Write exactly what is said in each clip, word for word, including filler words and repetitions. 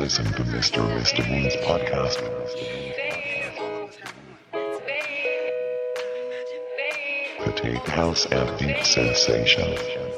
listen to Mister Mister Moon's podcast. Potato House and Deep Sensation.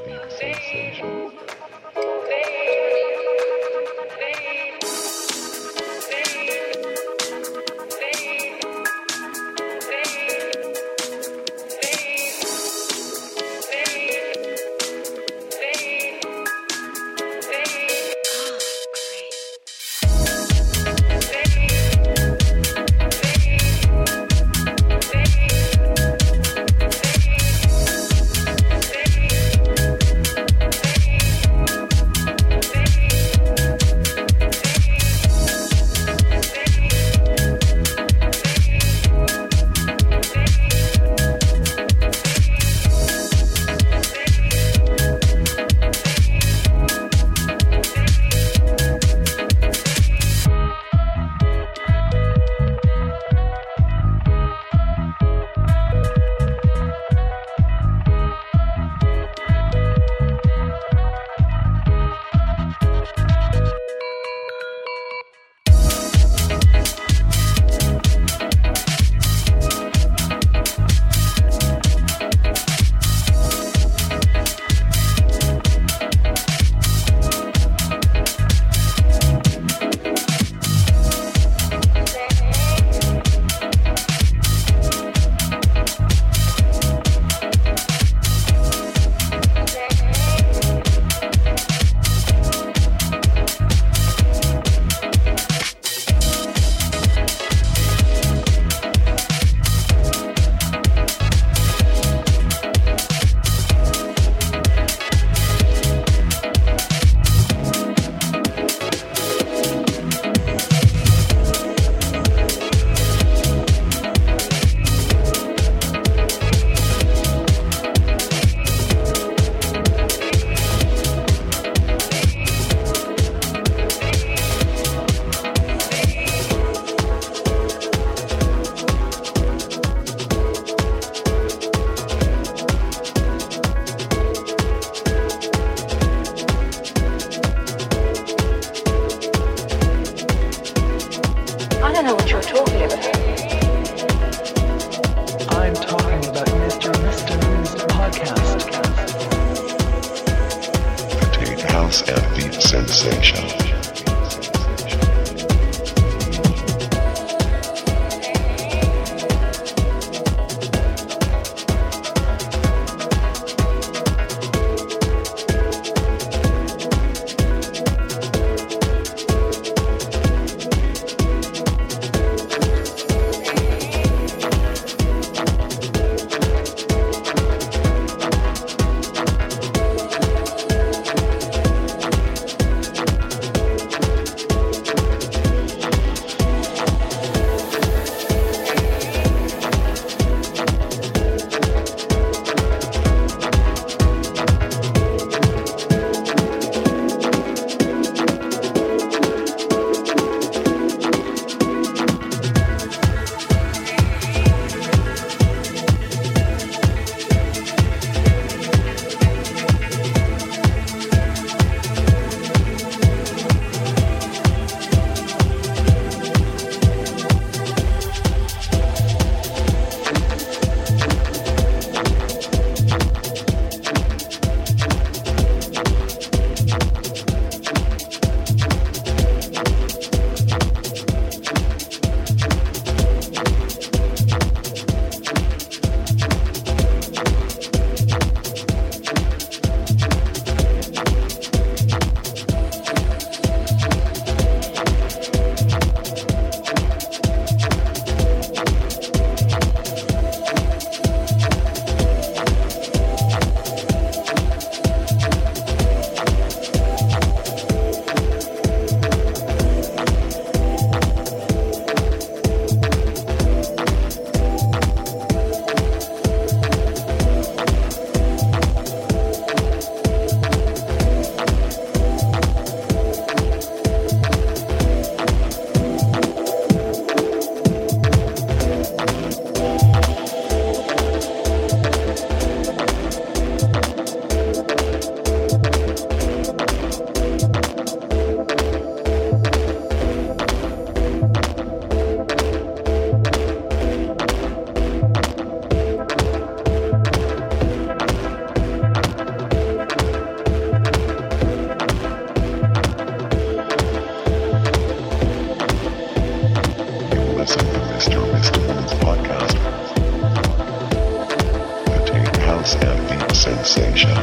And Deep Sensation. sensation.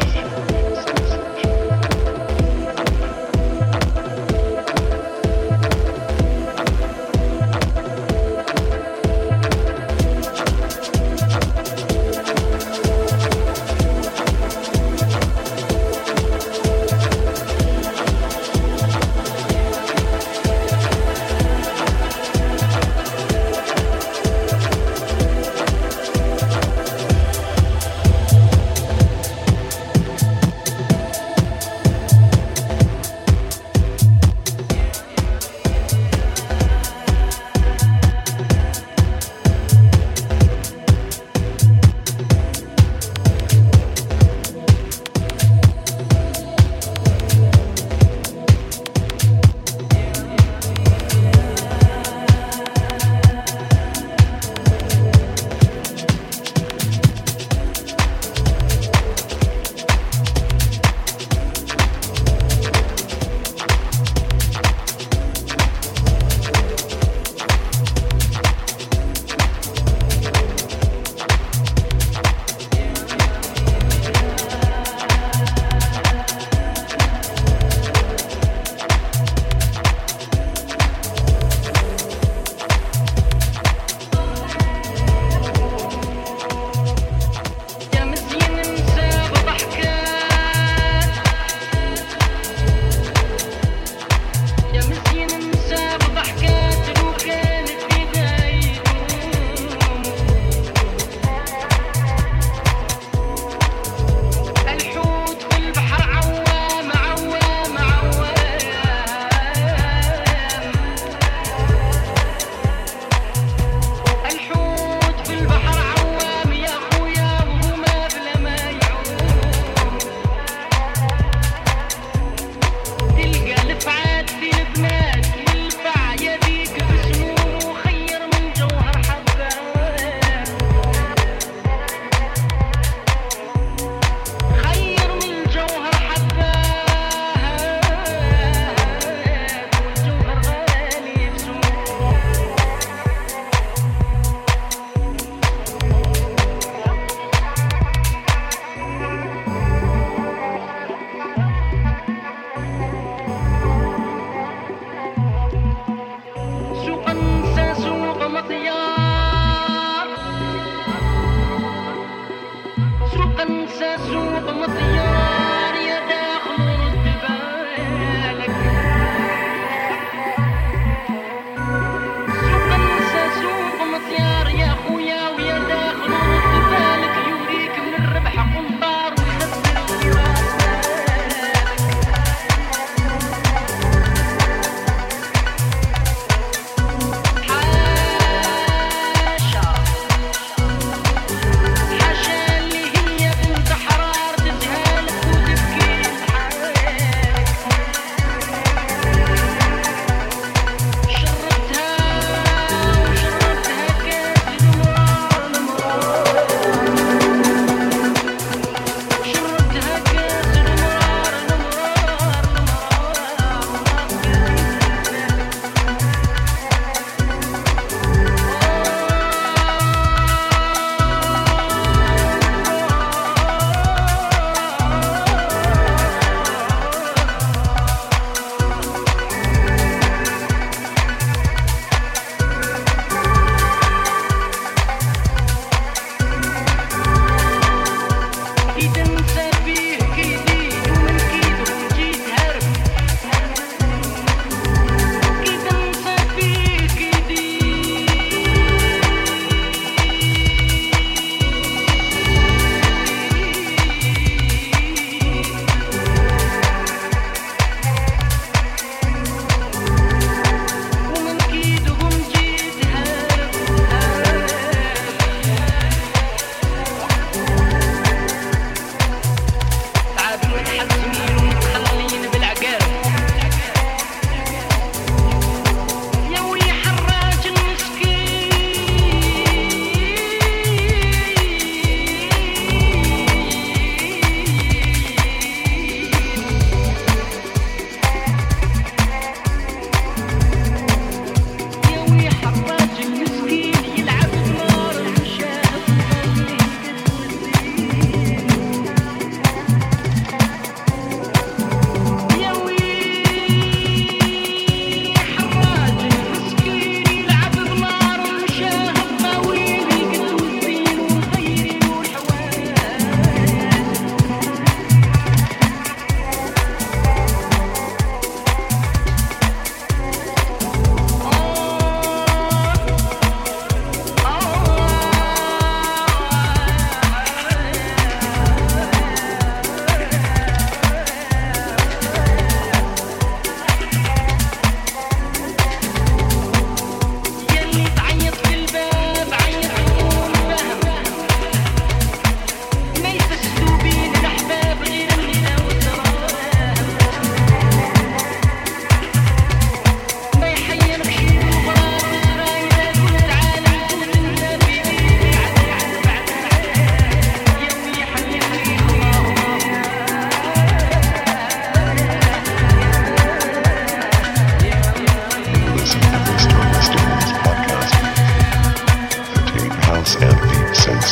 حاشا اللي هي بنت حرار تزهق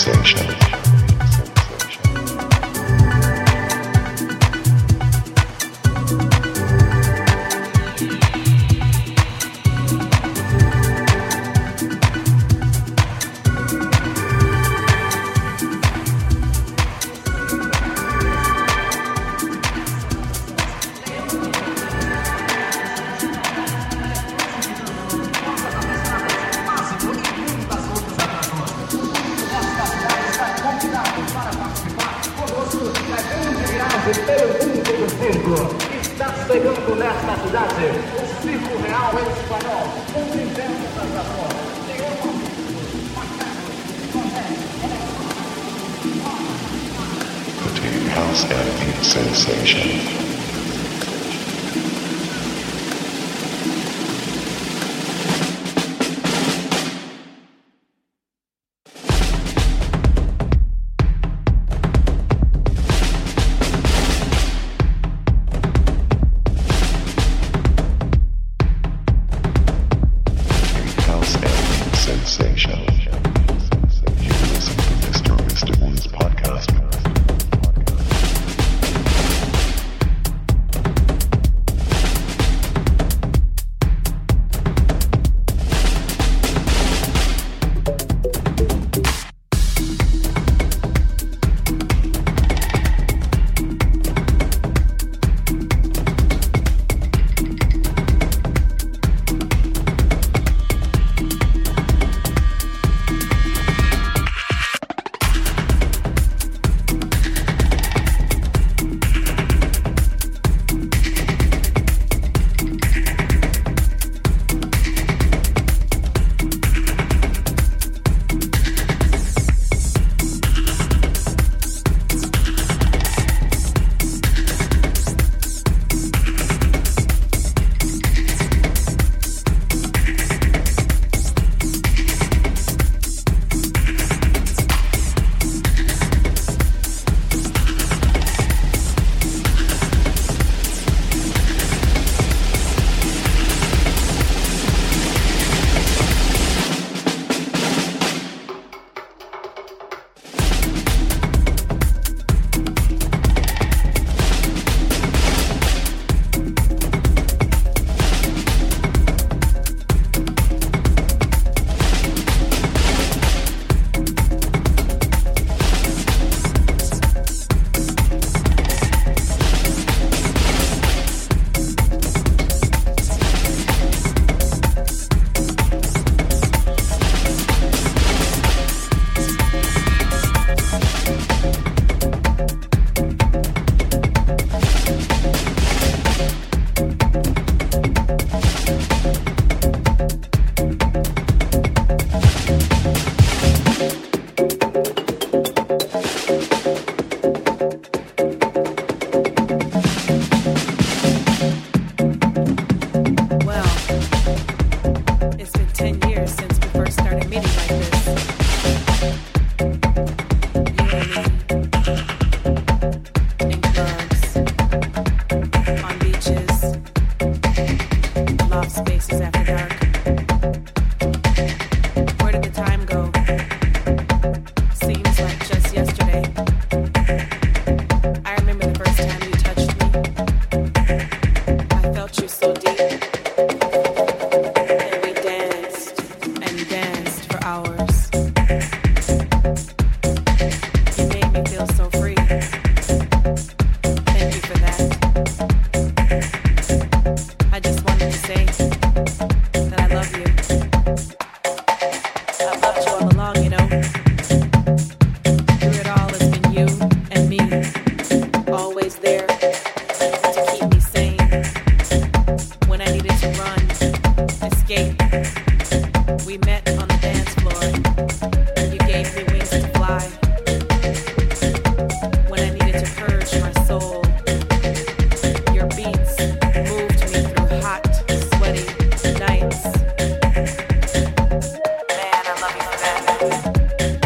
Sensation. Está chegando nesta cidade o Circo Real Espanhol, um diversas atrações. The Tech House and Beat Sensation. Sensation. You listen to Mister Mister Moon's podcast. Man, I love you for that.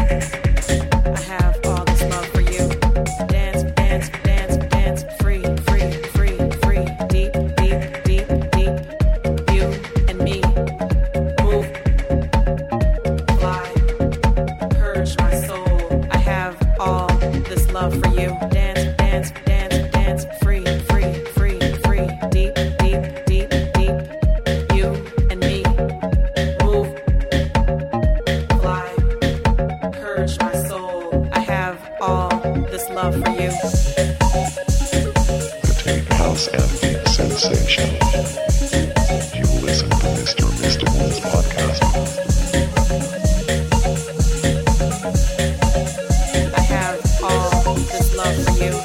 love for you. To take house and beat sensation. You listen to Mister Mister One's podcast. I have all this love for you.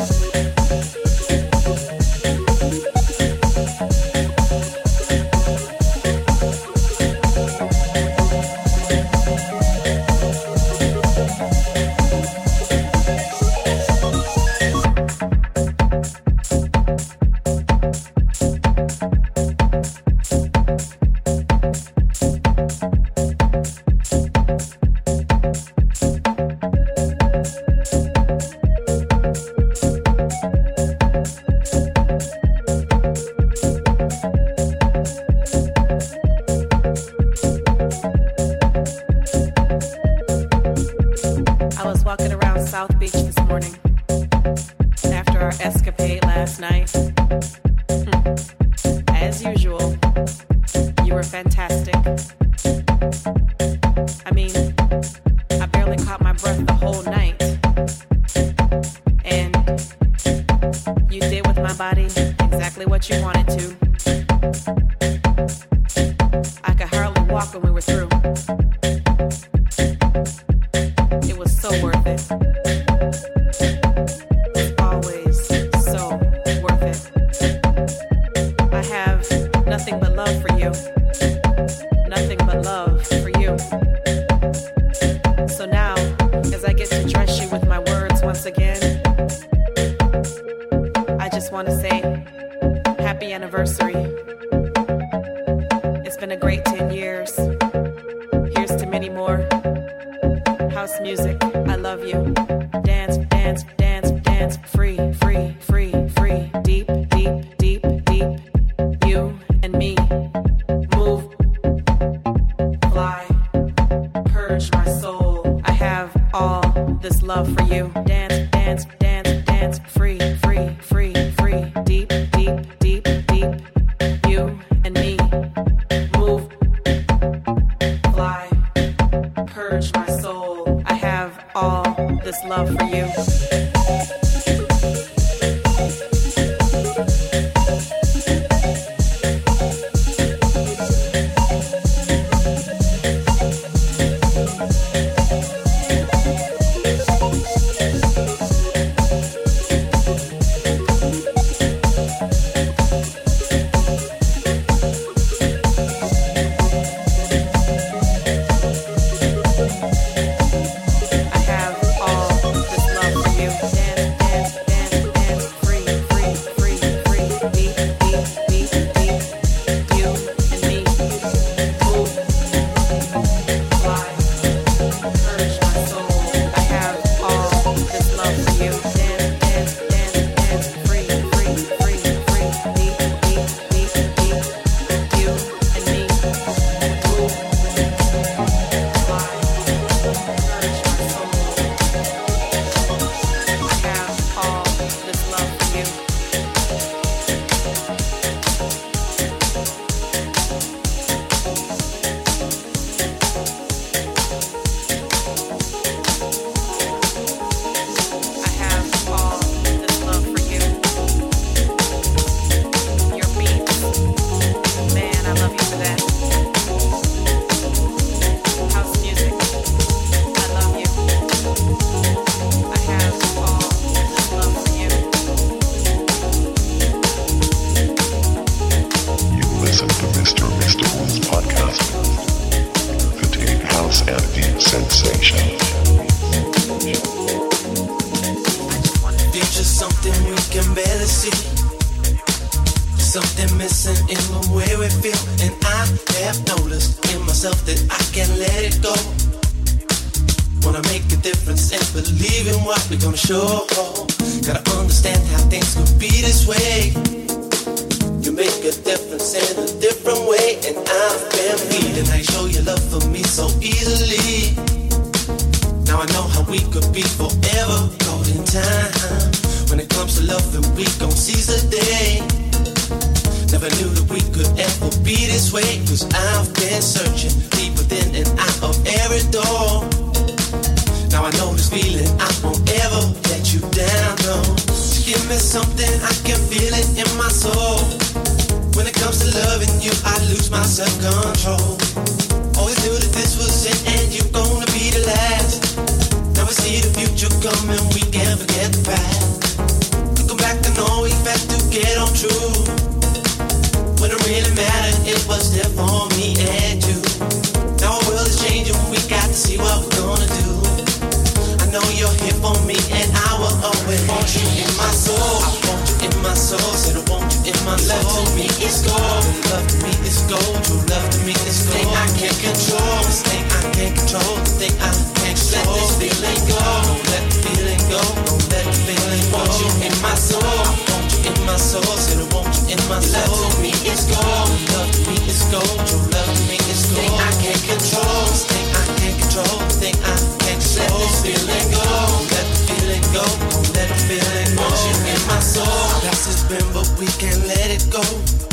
Now I know this feeling, I want every ever let you down, no. So give me something, I can feel it in my soul. When it comes to loving you, I lose my self-control. Always knew that this was it and you're gonna be the last. Now we see the future coming, we can't forget the past. Looking back, I know we had to get on true. When it really mattered, it was there for me and you. Now our world is changing, we got to see what we're gonna do. I know you're here for me and I will always want you in my soul. I want you in my soul, said I want you in my soul. Love to me is gold, love to me is gold. True love to me is gold. Thing I can't control, this thing I can't control. The thing I can't control. Let this feeling go, don't let the feeling go, don't let the feeling go. Want you in my soul, I want you in my soul, said I want you in my soul. Love to me is gold, love to me is gold. True love to me is gold. Thing I can't control, this thing I can't control. The thing I can't control. Let this feeling go, don't let the feeling go, don't let the feeling go. Want you in my soul. Past has been, but we can't let it go.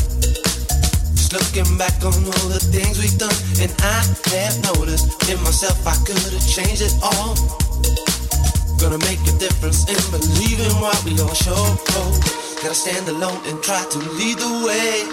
Just looking back on all the things we've done, and I have noticed in myself I could have changed it all. Gonna make a difference in believing what we all show. Gotta stand alone and try to lead the way.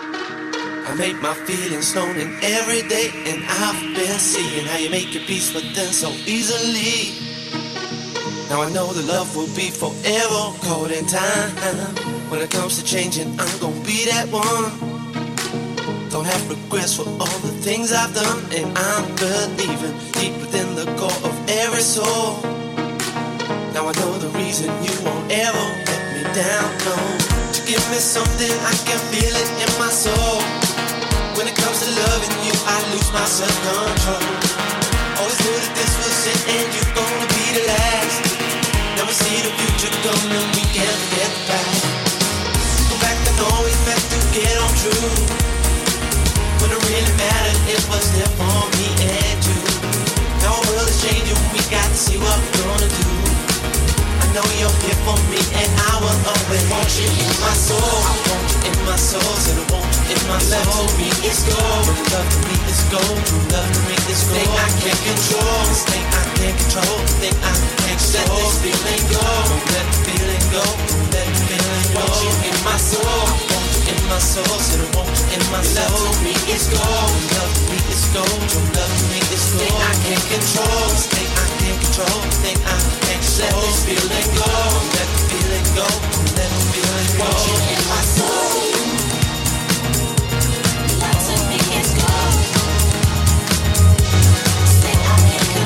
I make my feelings known in every day, and I've been seeing how you make your peace with them so easily. Now I know the love will be forever caught in time. When it comes to changing, I'm gonna be that one. Don't have regrets for all the things I've done, and I'm believing deep within the core of every soul. Now I know the reason you won't ever let me down, no. To give me something, I can feel it in my soul. When it comes to loving you, I lose my self-control. Always knew that this was it and you're gonna be the last. Now we see the future coming, we can't forget the past. Go back and always have to get on true. When it really mattered, it was there for me and you. Now our world is changing, we got to see what we're gonna do. I know you're here for me and I will always want you in my soul. I want you in my soul, said I want you in my soul. Love to me is gold, love to me is gold. True love to me is gold. Thing I can't control, this thing I can't control. The thing I can't control. Let this feeling go, don't let the feeling go, don't let the feeling go. Want you in my soul, I want you in my soul, said I want you in my soul. Love to me is gold, love to me is gold. True love to me is gold. Thing I can't control, this thing I can't control. The thing I can't control. Let this feeling go, don't let the feeling go, don't let the feeling go. Want you in my soul. Love to me is gold. Thing I can't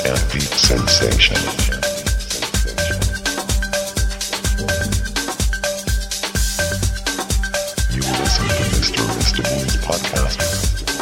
and deep sensation. You listen to Mister Mister Moon's podcast.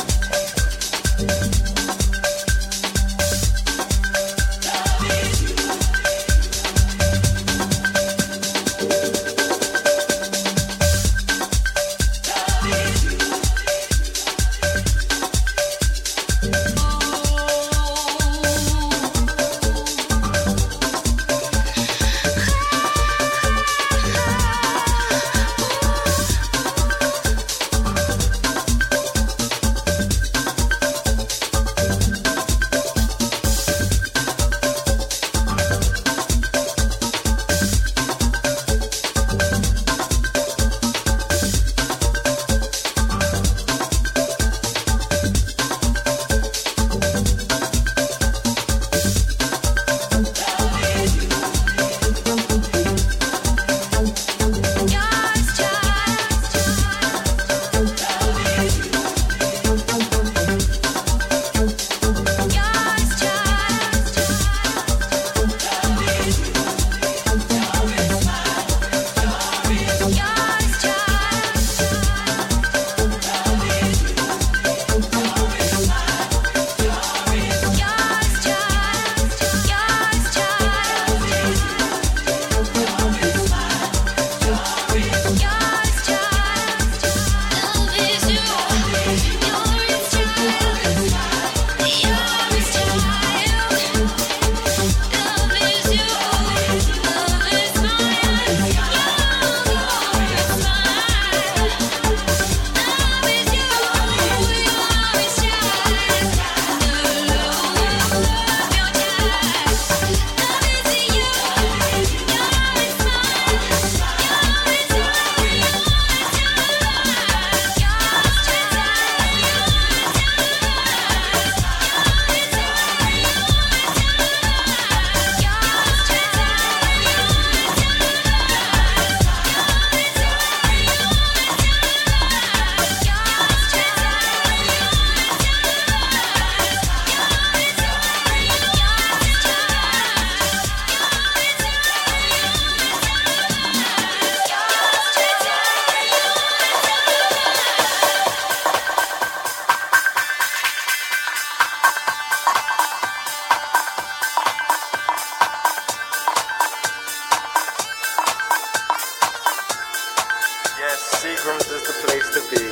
Seagram's is the place to be.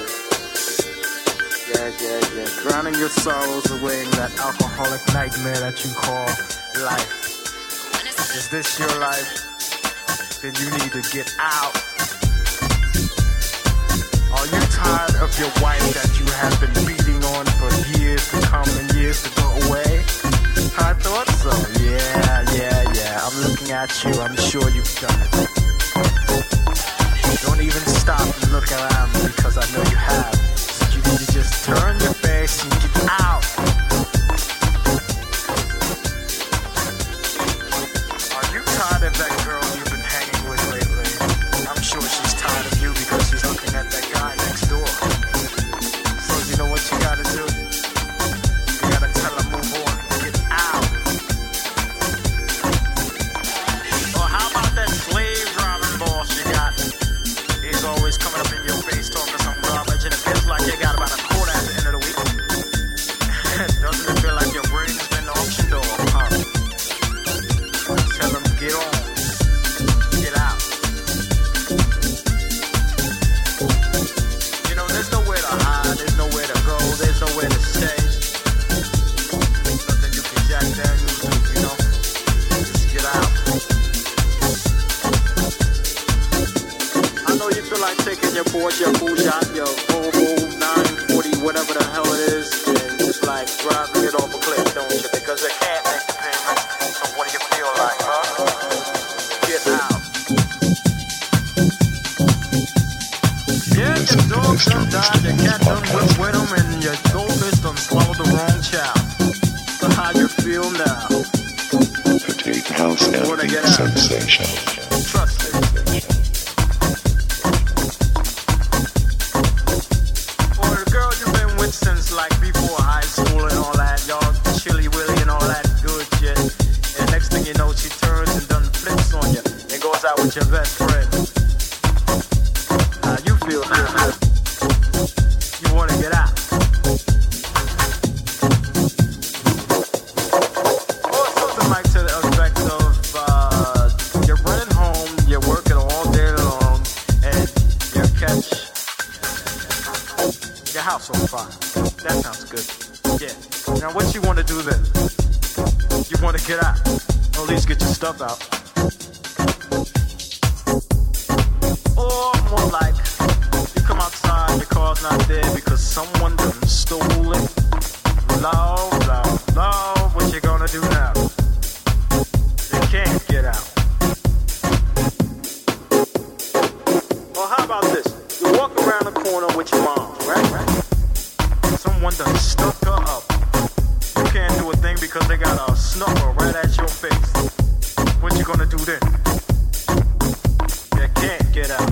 Yeah, yeah, yeah. Drowning your sorrows away in that alcoholic nightmare that you call life. Is this your life? Then you need to get out. Are you tired of your wife that you have been beating on for years to come and years to go away? I thought so. Yeah, yeah, yeah. I'm looking at you. I'm sure you've done it. Don't even stop and look around because I know you have. So you need to just turn your face and get out. Are you tired of that girl you've been hanging with lately? I'm sure she's tired of you because she's looking at that guy next door. So you know what you gotta do? You gotta tell her move on and get out. Or how about that slave driving boss you got? He's always coming up in your face talking some garbage, and it feels like you got about a quarter at the end of the week. Doesn't it feel like your brain has been auctioned off, huh? Tell him get on, get out. You know, there's nowhere to hide, there's nowhere to go, there's nowhere to stay. Nothing you can jack Daniels do, you know? Just get out. I know you feel like taking your Porsche, your Peugeot, your Volvo nine forty, whatever the hell it is, and just like driving it off a cliff, don't you? Because they can't make the payments. So what do you feel like, huh? Get out. Yeah, your dog done died, your cat done went with him, and your goldfish done swallowed the wrong child. So how you feel now? Petite house and deep sensation. Trust me. Since like before high school and all that, y'all chilly willy and all that good shit. was out with your best friend. How you feel now? You wanna get out? Or something like to the effect of uh, you're running home, you're working all day long, and you catch your house on fire. That sounds good. Yeah. Now what you wanna do then? You wanna get out? Or at least get your stuff out. Or more like, you come outside, your car's not there because someone done stole it. Lord, Lord, Lord, what you gonna do now? You can't get out. Well, how about this? You walk around the corner with your mom, right? right? Someone done stuck her up. You can't do a thing because they got a snuffer right at your face. What you gonna do then? You can't get out.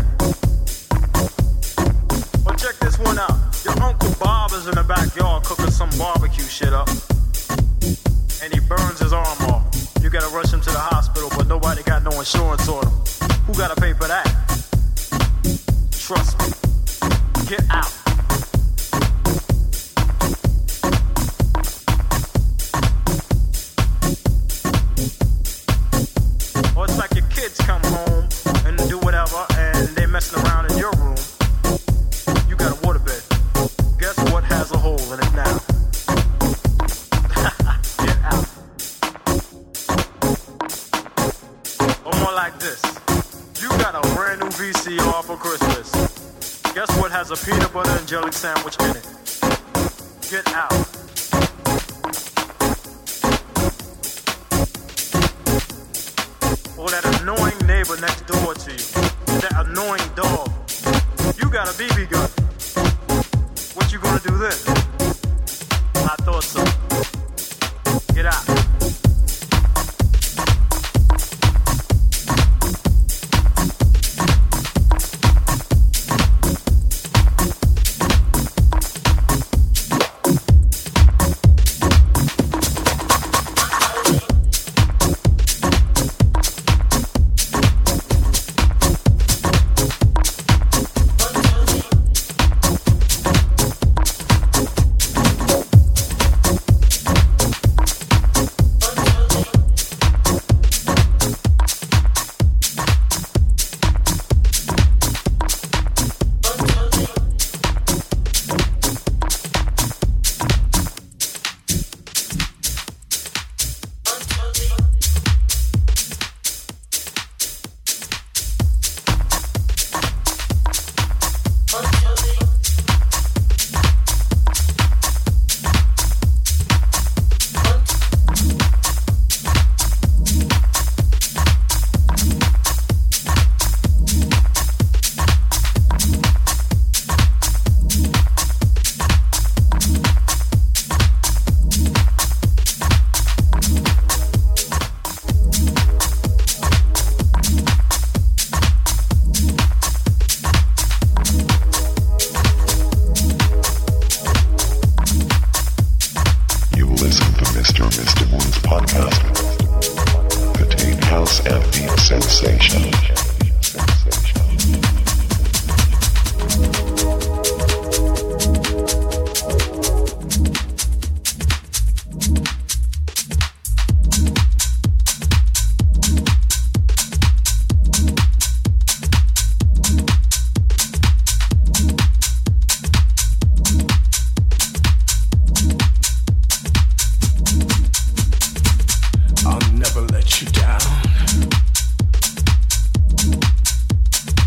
Well, check this one out. Your Uncle Bob is in the backyard cooking some barbecue shit up. And he burns his arm off. You gotta rush him to the hospital, but nobody got no insurance on him. Who gotta pay for that? Trust me. Get out. Or it's like your kids come home and do whatever and they messing around in your room. You got a waterbed. Guess what has a hole in it now? Get out. Or more like this. You got a brand new V C R for Christmas. Guess what has a peanut butter and jelly sandwich in it? Get out. Or that annoying neighbor next door to you. That annoying dog. You got a B B gun. What you gonna do then? I thought so. Get out. I'll never let you down.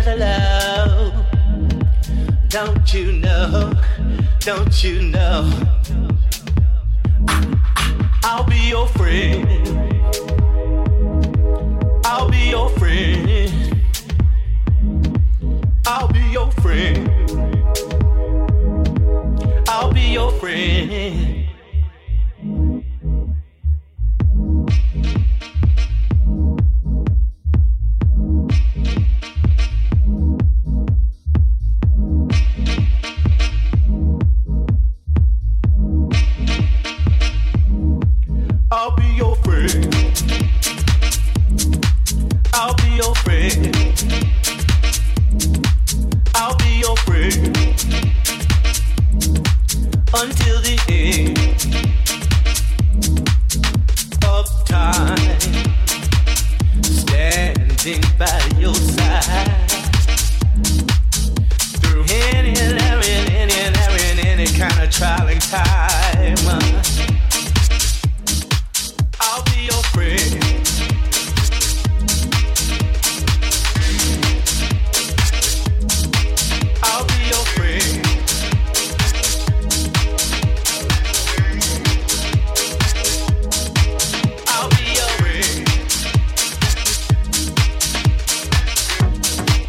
hello. Don't you know? Don't you know? I'll be your friend. I'll be your friend. I'll be your friend. I'll be your friend. I'll be your friend. I'll be your friend. I'll be your friend until the end of time, standing by your side through any and every, any and every, any kind of trying time. I'll be your friend. I'll be your friend. I'll be your friend.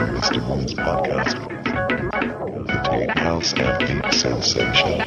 Mister Mister Moon's podcast. The Tate House and Deep Sensation.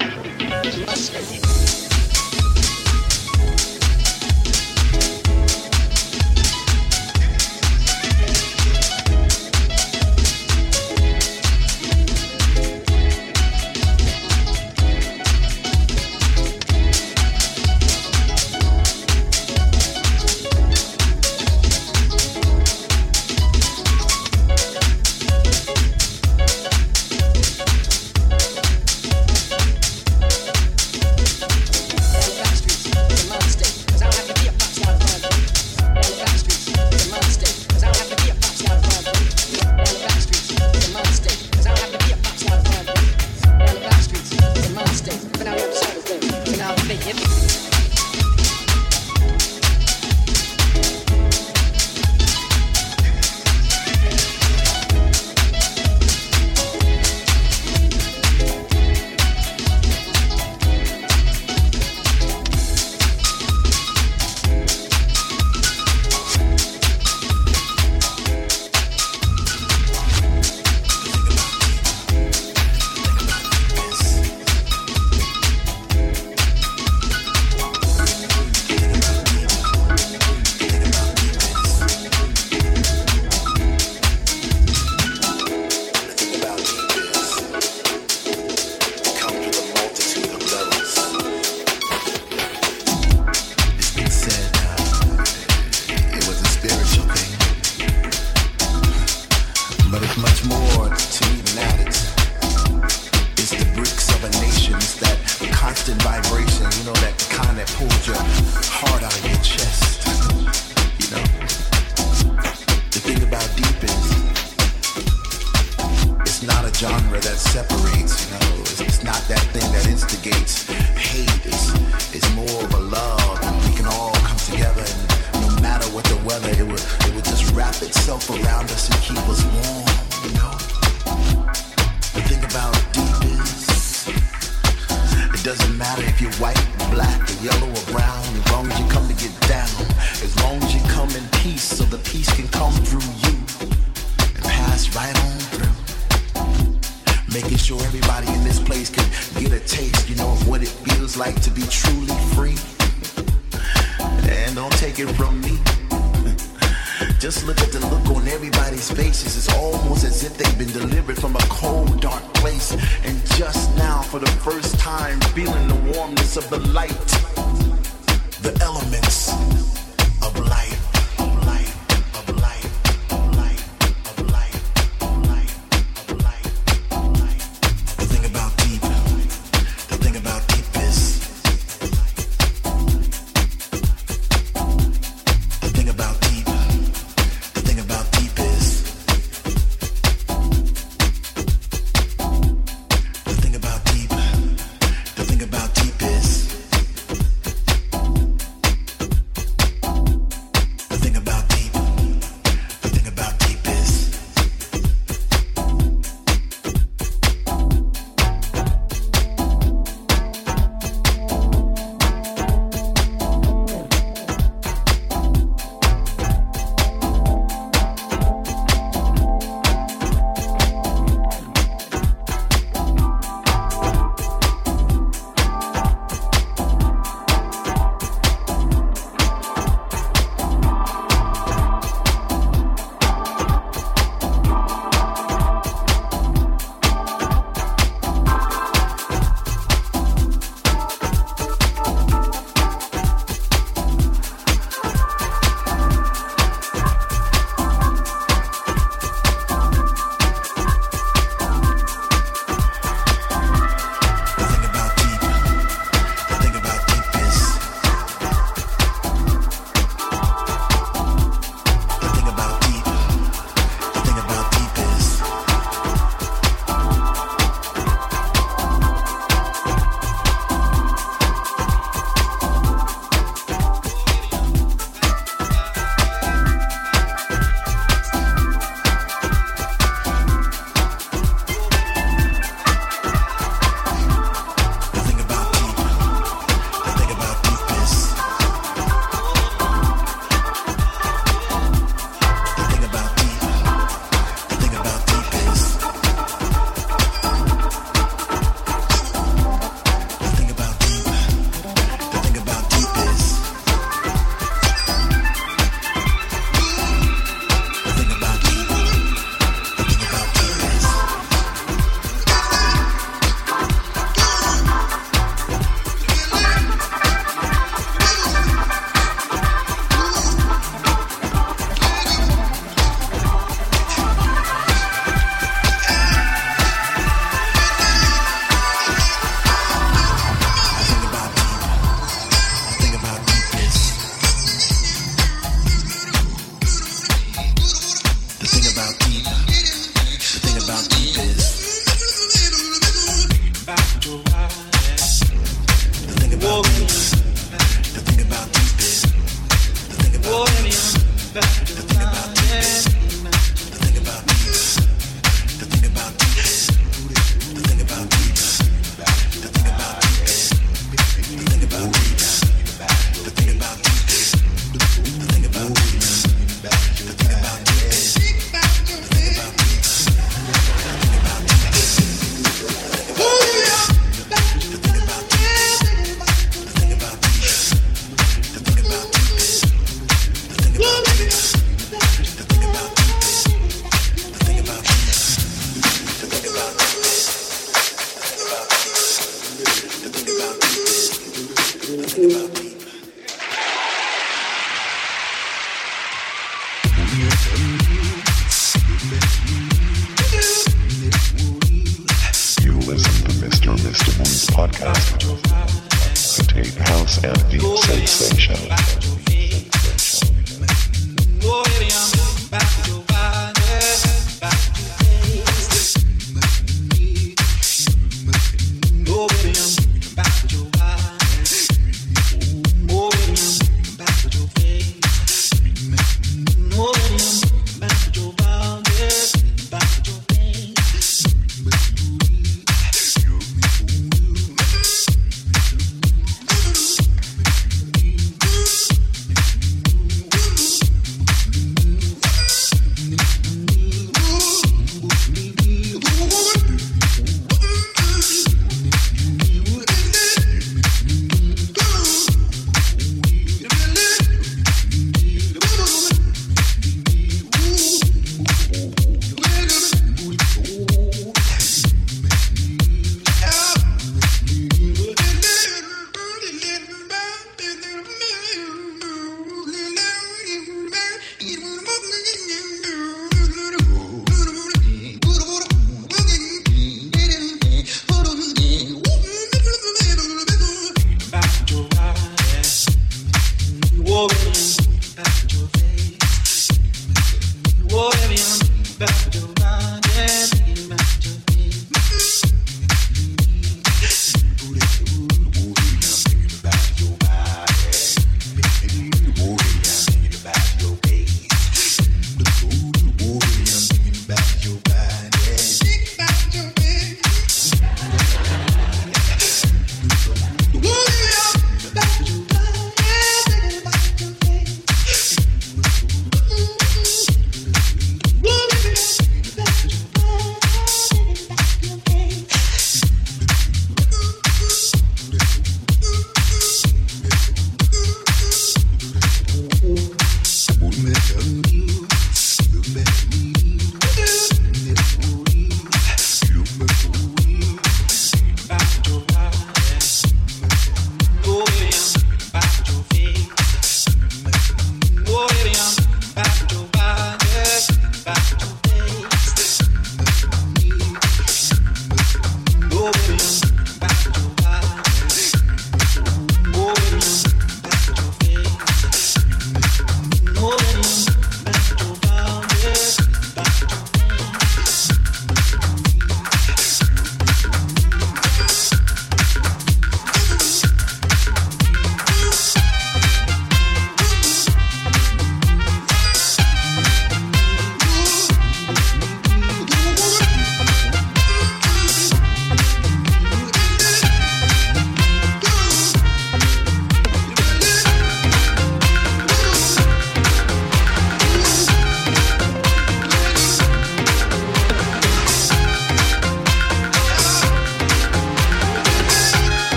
podcast. Contain house and deep sensation.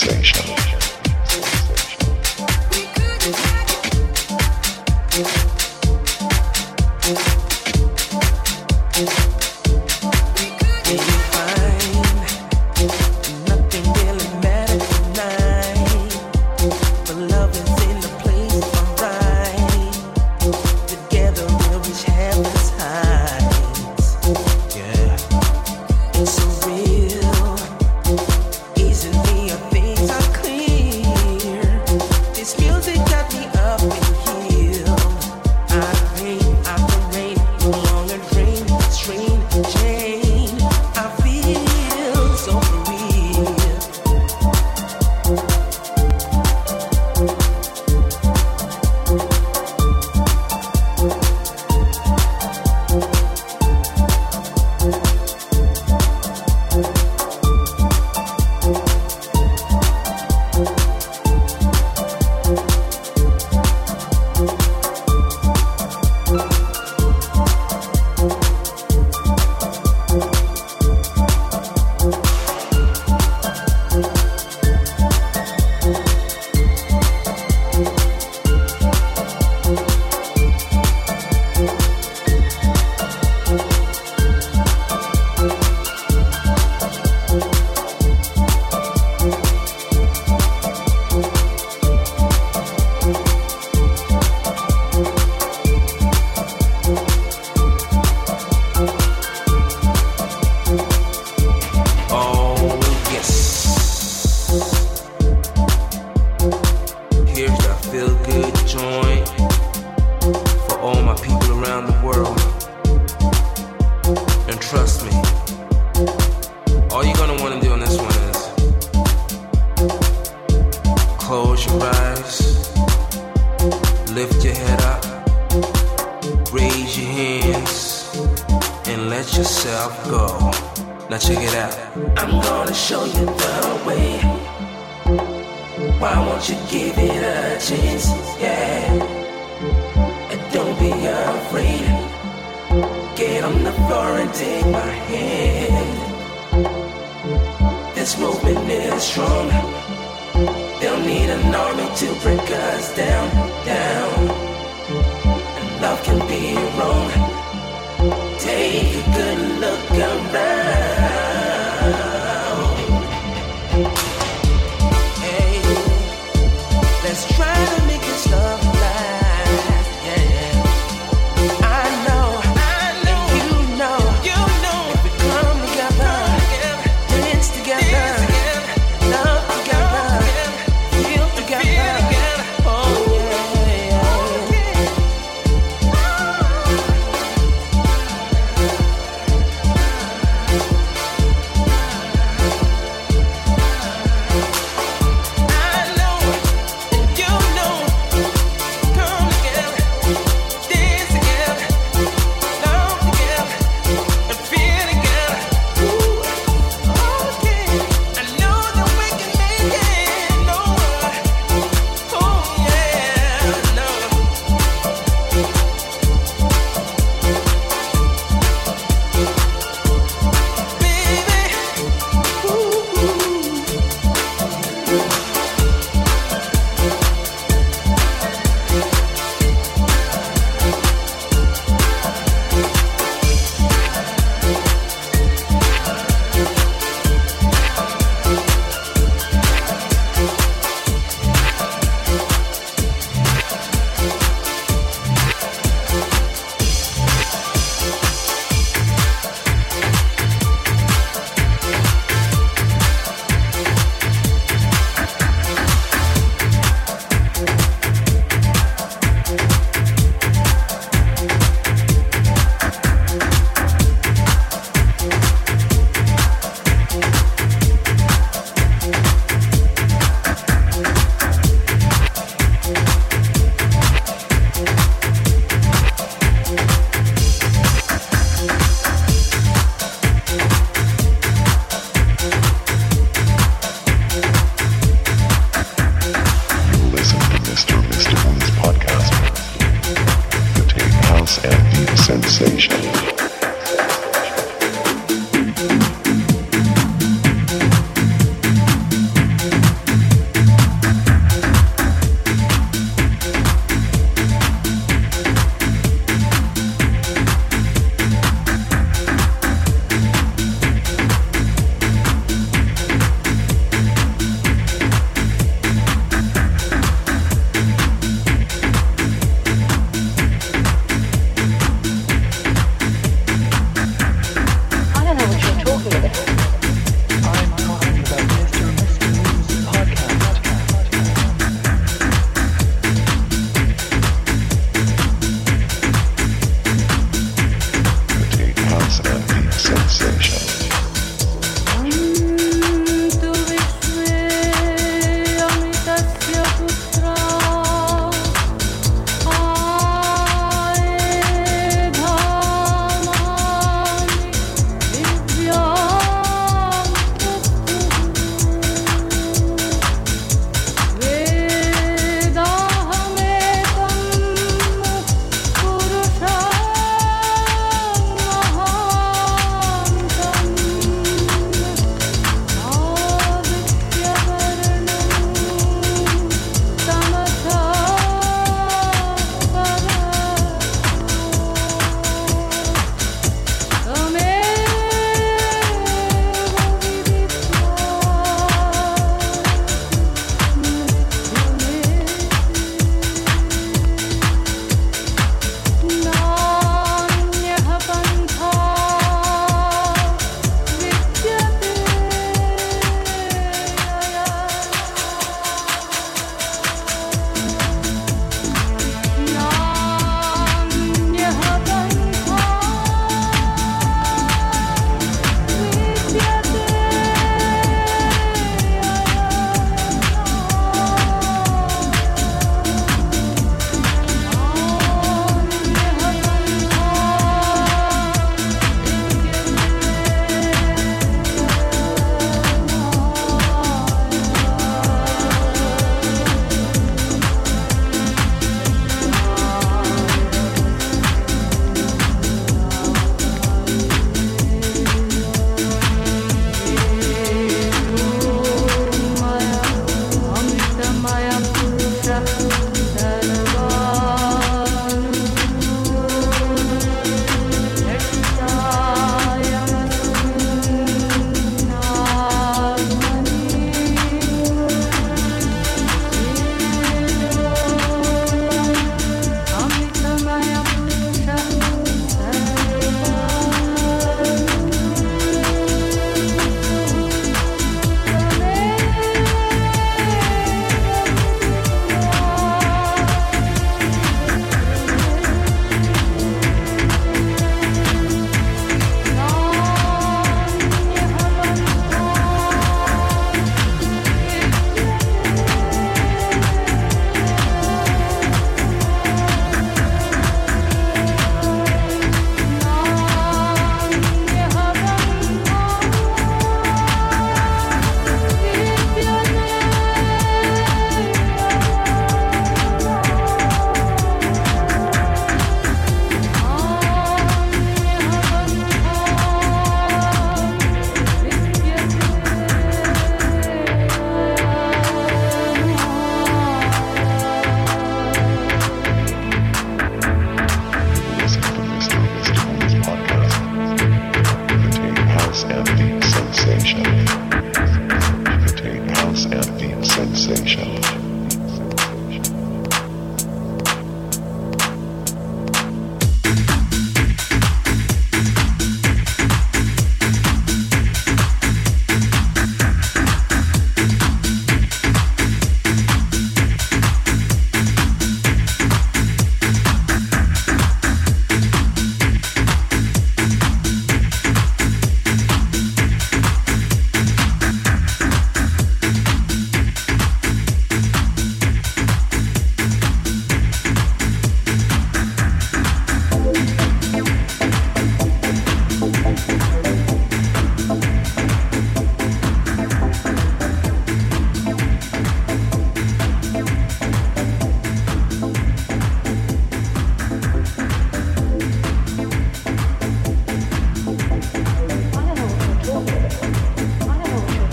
sensation.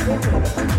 Thank you.